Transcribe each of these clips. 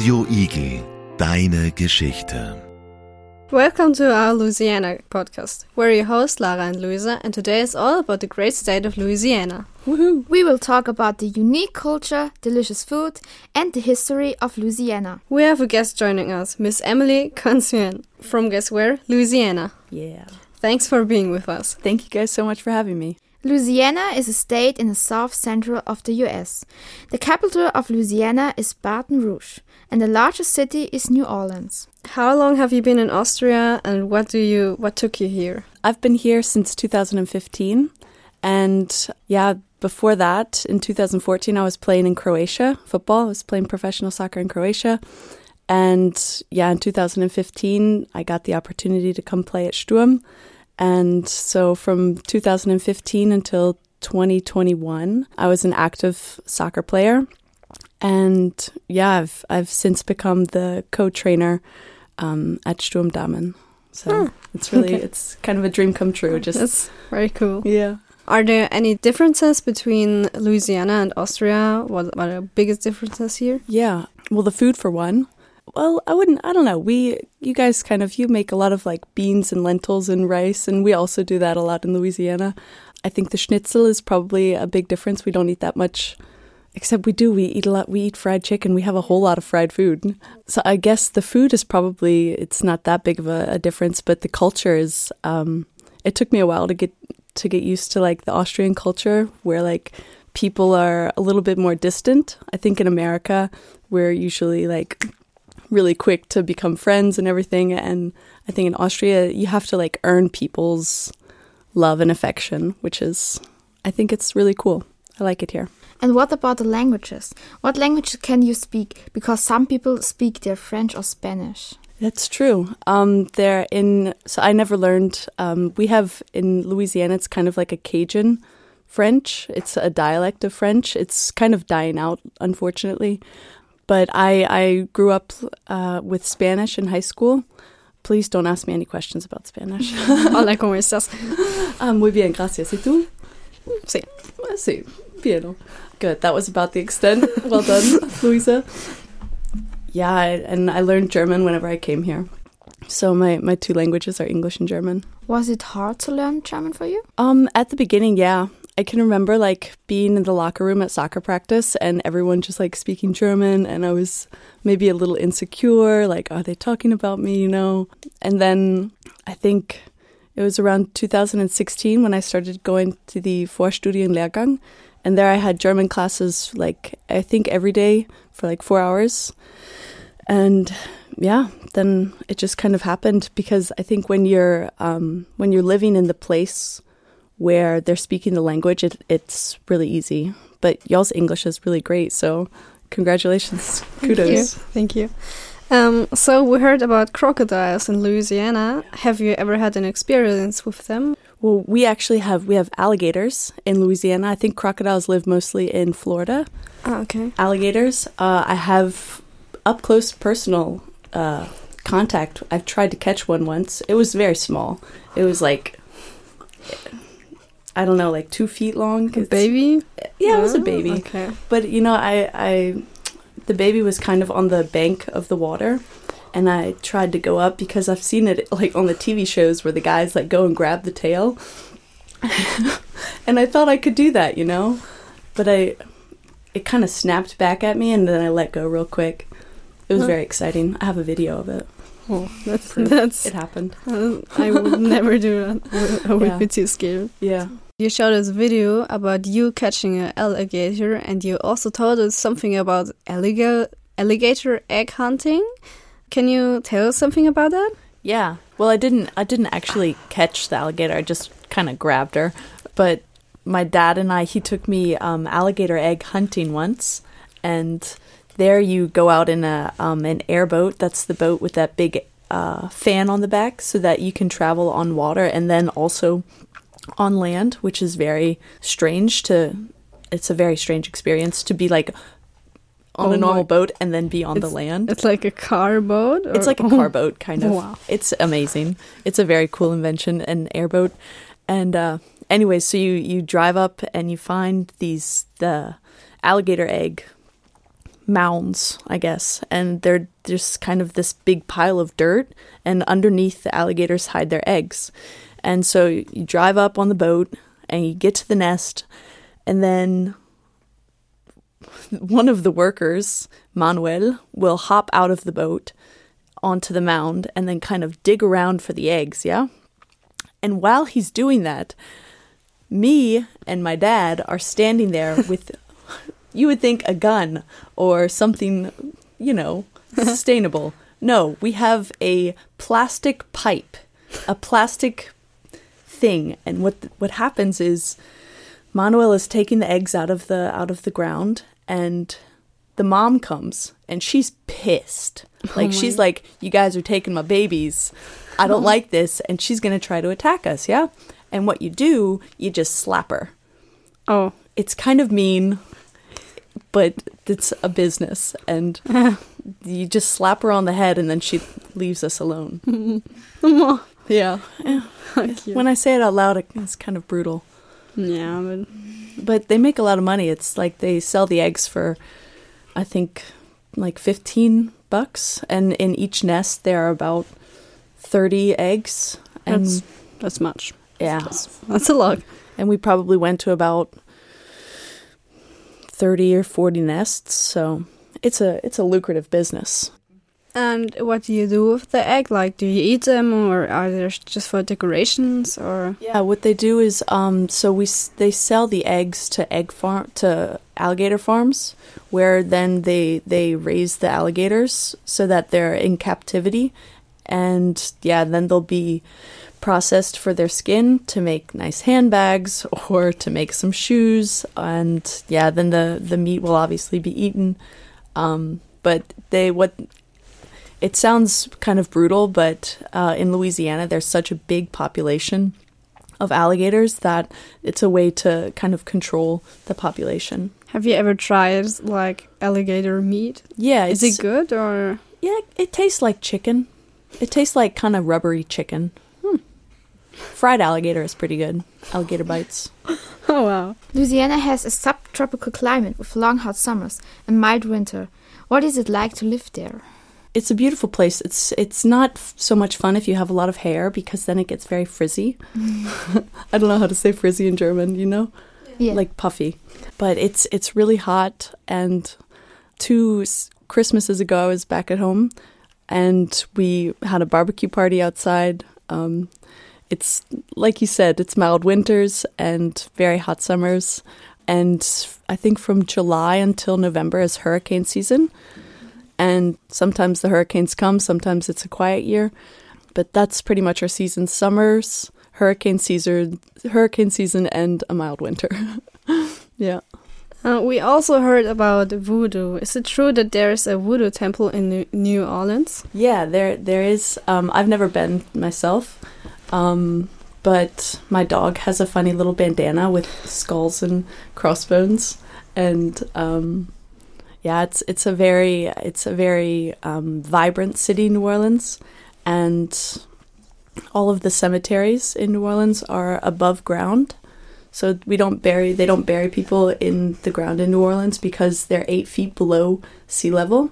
Radio Igel, deine Geschichte. Welcome to our Louisiana podcast. We're your hosts, Lara and Luisa, and today is all about the great state of Louisiana. Woohoo! We will talk about the unique culture, delicious food, and the history of Louisiana. We have a guest joining us, Miss Emily Consuin, from guess where? Louisiana. Yeah. Thanks for being with us. Thank you guys so much for having me. Louisiana is a state in the south central of the US. The capital of Louisiana is Baton Rouge, and the largest city is New Orleans. How long have you been in Austria, and what took you here? I've been here since 2015, and before that, in 2014, I was playing in Croatia, football. I was playing professional soccer in Croatia, and in 2015, I got the opportunity to come play at Sturm. And so from 2015 until 2021, I was an active soccer player. And I've since become the co-trainer at Sturm Damen. So it's kind of a dream come true. That's very cool. Yeah. Are there any differences between Louisiana and Austria? What are the biggest differences here? Yeah. Well, the food for one. Well, I don't know. You guys you make a lot of like beans and lentils and rice, and we also do that a lot in Louisiana. I think the schnitzel is probably a big difference. We don't eat that much, except we eat a lot. We eat fried chicken. We have a whole lot of fried food. So I guess the food is it's not that big of a difference, but the culture is, it took me a while to get used to like the Austrian culture where like people are a little bit more distant. I think in America, we're usually like really quick to become friends and everything, and I think in Austria you have to like earn people's love and affection, I think it's really cool. I like it here. And what about the languages? What language can you speak? Because some people speak their French or Spanish. That's true. So I never learned. We have in Louisiana, it's kind of like a Cajun French. It's a dialect of French. It's kind of dying out, unfortunately. But I grew up with Spanish in high school. Please don't ask me any questions about Spanish. Hola, ¿cómo estás? Muy bien, gracias. ¿Y tú? Sí. Sí, bien. Good. That was about the extent. Well done, Luisa. Yeah, and I learned German whenever I came here. So my two languages are English and German. Was it hard to learn German for you? At the beginning, yeah. I can remember like being in the locker room at soccer practice and everyone just like speaking German, and I was maybe a little insecure, like, are they talking about me, And then I think it was around 2016 when I started going to the Vorstudienlehrgang, and there I had German classes like I think every day for like 4 hours. And then it just kind of happened, because I think when you're living in the place where they're speaking the language, it's really easy. But y'all's English is really great, so congratulations. Kudos. Thank you. So we heard about crocodiles in Louisiana. Have you ever had an experience with them? Well, we have alligators in Louisiana. I think crocodiles live mostly in Florida. Oh, okay. Alligators. I have up close personal contact. I've tried to catch one once. It was very small. It was like, I don't know, like 2 feet long. A baby? Yeah, it was a baby. Okay. But, the baby was kind of on the bank of the water, and I tried to go up because I've seen it like on the TV shows where the guys like go and grab the tail. And I thought I could do that, But it kind of snapped back at me, and then I let go real quick. It was very exciting. I have a video of it. Oh, that's it happened. I would never do that. I would be too scared. Yeah. You showed us a video about you catching an alligator, and you also told us something about alligator egg hunting. Can you tell us something about that? Yeah. Well, I didn't actually catch the alligator. I just kind of grabbed her. But my dad and he took me alligator egg hunting once, and there you go out in an airboat. That's the boat with that big fan on the back, so that you can travel on water and then also on land, which is very strange. It's a very strange experience to be like on a normal boat and then be on the land. It's like a car boat? It's like a car boat, kind of. Wow. It's amazing. It's a very cool invention, an airboat. And anyways, so you drive up and you find the alligator egg mounds, I guess, and they're just kind of this big pile of dirt, and underneath the alligators hide their eggs. And so you drive up on the boat and you get to the nest, and then one of the workers, Manuel, will hop out of the boat onto the mound and then kind of dig around for the eggs, yeah? And while he's doing that, me and my dad are standing there with, you would think, a gun or something, you know, sustainable. No, we have a plastic pipe, a plastic thing. And what happens is Manuel is taking the eggs out of the ground, and the mom comes and she's pissed. Like, she's like, you guys are taking my babies. I don't like this. And she's going to try to attack us, yeah? And what you do, you just slap her. Oh. It's kind of mean, but it's a business. And you just slap her on the head and then she leaves us alone. Yeah. When I say it out loud, it's kind of brutal. Yeah, but they make a lot of money. It's like they sell the eggs for, I think, like $15. And in each nest, there are about 30 eggs. And that's much. Yeah. That's a lot. And we probably went to about 30 or 40 nests. So it's a lucrative business. And what do you do with the egg? Like, do you eat them, or are they just for decorations? Or yeah, what they do is they sell the eggs to alligator farms, where then they raise the alligators so that they're in captivity, and yeah, then they'll be processed for their skin to make nice handbags or to make some shoes, and yeah, then the meat will obviously be eaten. But it sounds kind of brutal, but in Louisiana, there's such a big population of alligators that it's a way to kind of control the population. Have you ever tried, like, alligator meat? Yeah. Is it good, or? Yeah, it tastes like chicken. It tastes like kind of rubbery chicken. Fried alligator is pretty good. Alligator bites. Oh, wow. Louisiana has a subtropical climate with long hot summers and mild winter. What is it like to live there? It's a beautiful place. It's not so much fun if you have a lot of hair, because then it gets very frizzy. I don't know how to say frizzy in German, you know? Yeah. Like puffy. But it's really hot, and 2 Christmases ago I was back at home and we had a barbecue party outside. It's, like you said, it's mild winters and very hot summers. And I think from July until November is hurricane season. And sometimes the hurricanes come, sometimes it's a quiet year. But that's pretty much our season. Summers, hurricane season, and a mild winter. Yeah. We also heard about voodoo. Is it true that there is a voodoo temple in New Orleans? Yeah, there is. I've never been myself. But my dog has a funny little bandana with skulls and crossbones. And yeah, it's a very vibrant city, New Orleans, and all of the cemeteries in New Orleans are above ground. So they don't bury people in the ground in New Orleans because they're 8 feet below sea level.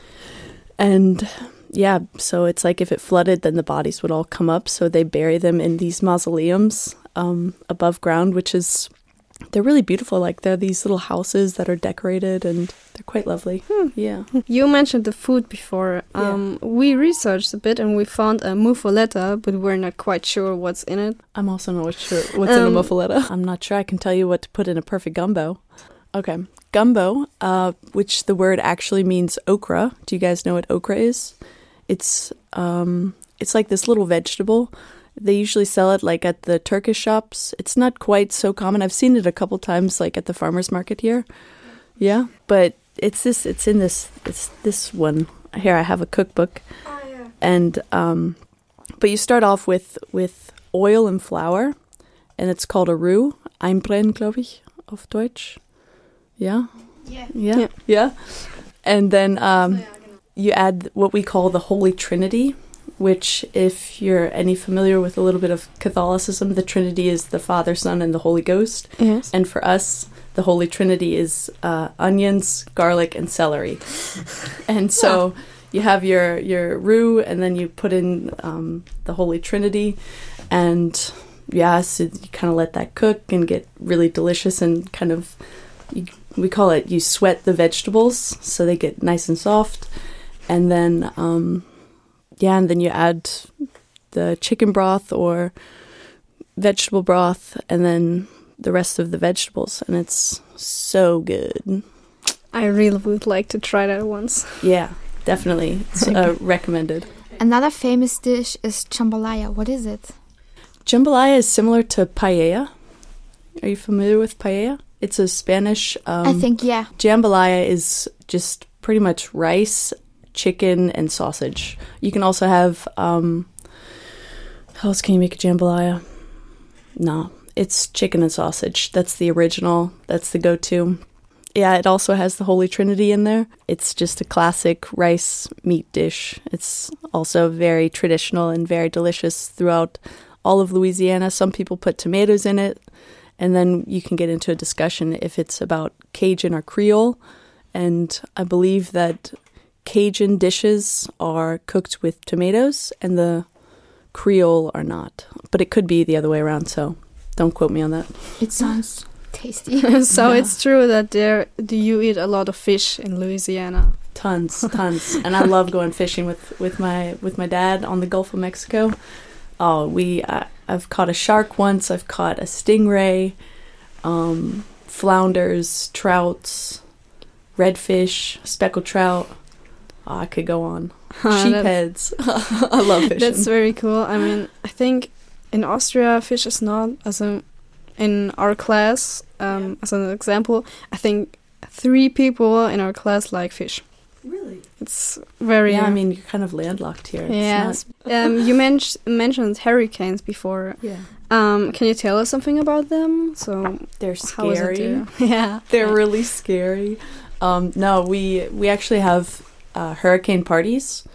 And yeah, so it's like if it flooded, then the bodies would all come up. So they bury them in these mausoleums above ground, they're really beautiful. Like, they're these little houses that are decorated, and they're quite lovely. Yeah. You mentioned the food before. Yeah. We researched a bit and we found a muffaletta, but we're not quite sure what's in it. I'm also not sure what's in a muffaletta. I'm not sure I can tell you what to put in a perfect gumbo. Okay. Gumbo, which the word actually means okra. Do you guys know what okra is? It's like this little vegetable. They usually sell it like at the Turkish shops. It's not quite so common. I've seen it a couple times like at the farmer's market here. Yeah, but it's this one. Here I have a cookbook. Oh, yeah. And but you start off with oil and flour, and it's called a roux. Einbrennen, glaube ich, auf Deutsch. Yeah? Yeah. And then you add what we call the Holy Trinity, which, if you're familiar with a little bit of Catholicism, the Trinity is the Father, Son, and the Holy Ghost. Yes. And for us, the Holy Trinity is onions, garlic, and celery. And so you have your roux, and then you put in the Holy Trinity, and so you kind of let that cook and get really delicious, and kind of, we call it, you sweat the vegetables so they get nice and soft. And then, and then you add the chicken broth or vegetable broth, and then the rest of the vegetables, and it's so good. I really would like to try that once. Yeah, definitely. It's recommended. Another famous dish is jambalaya. What is it? Jambalaya is similar to paella. Are you familiar with paella? It's a Spanish... I think, yeah. Jambalaya is just pretty much rice, chicken, and sausage. You can also have... how else can you make a jambalaya? No, it's chicken and sausage. That's the original. That's the go-to. Yeah, it also has the Holy Trinity in there. It's just a classic rice meat dish. It's also very traditional and very delicious throughout all of Louisiana. Some people put tomatoes in it, and then you can get into a discussion if it's about Cajun or Creole. And I believe that Cajun dishes are cooked with tomatoes and the Creole are not. But it could be the other way around, so don't quote me on that. It sounds tasty. So it's true that do you eat a lot of fish in Louisiana? Tons. And I love going fishing with my dad on the Gulf of Mexico. Oh, I've caught a shark once. I've caught a stingray, flounders, trouts, redfish, speckled trout. Oh, I could go on. Sheepheads. I love fishing. That's very cool. I mean, I think in Austria, fish is not in our class. As an example, I think 3 people in our class like fish. Really? It's very... Yeah, I mean, you're kind of landlocked here. Yes. You mentioned hurricanes before. Yeah. Can you tell us something about them? So they're scary. How is it yeah. They're really scary. No, we actually have hurricane parties.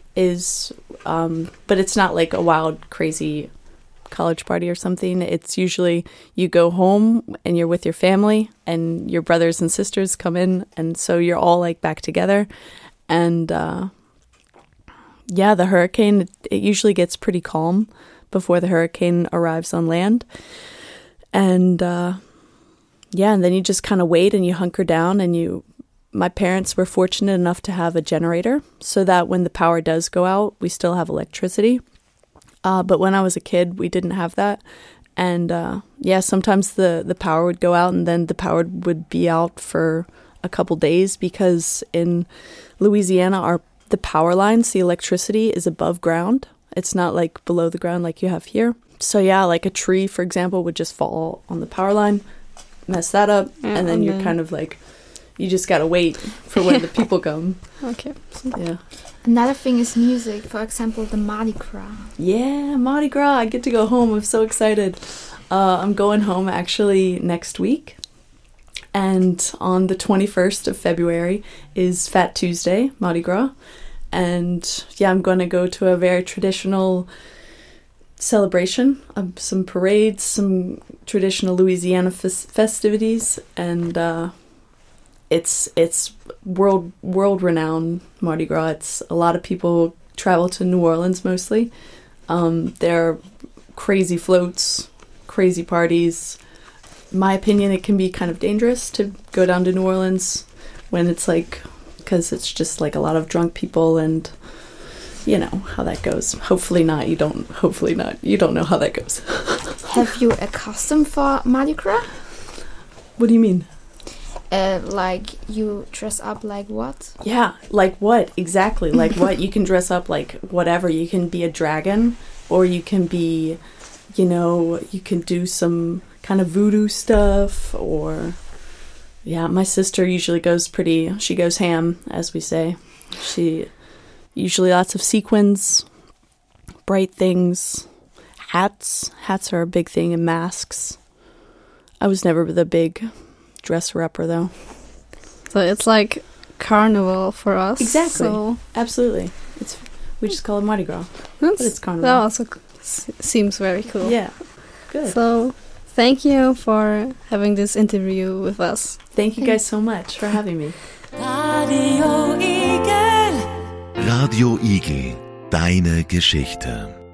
But it's not like a wild, crazy college party or something. It's usually you go home and you're with your family and your brothers and sisters come in, and so you're all like back together. And the hurricane, it usually gets pretty calm before the hurricane arrives on land. And and then you just kind of wait and you hunker down, and my parents were fortunate enough to have a generator so that when the power does go out, we still have electricity. But when I was a kid, we didn't have that. And sometimes the power would go out, and then the power would be out for a couple days, because in Louisiana, the power lines, the electricity is above ground. It's not like below the ground like you have here. So like a tree, for example, would just fall on the power line, mess that up, and then you're kind of like... You just gotta wait for when the people come. Okay. Yeah. Another thing is music. For example, the Mardi Gras. Yeah, Mardi Gras. I get to go home. I'm so excited. I'm going home actually next week. And on the 21st of February is Fat Tuesday, Mardi Gras. And I'm going to go to a very traditional celebration, some parades, some traditional Louisiana festivities, and it's world renowned Mardi Gras. It's a lot of people travel to New Orleans mostly. There are crazy floats, crazy parties. In my opinion, it can be kind of dangerous to go down to New Orleans when it's like, because it's just like a lot of drunk people, and you know how that goes. Hopefully not. You don't know how that goes. Have you a costume for Mardi Gras? What do you mean? Like you dress up like what? Yeah, like what? Exactly. Like what? You can dress up like whatever. You can be a dragon, or you can be, you can do some kind of voodoo stuff, or my sister usually she goes ham, as we say. She usually lots of sequins, bright things, hats. Hats are a big thing, and masks. I was never the big dresser-upper, though. So it's like carnival for us. Exactly. So absolutely. We just call it Mardi Gras. But it's carnival. That also seems very cool. Yeah. Good. So thank you for having this interview with us. Thank you guys so much for having me. Radio Igel, deine Geschichte.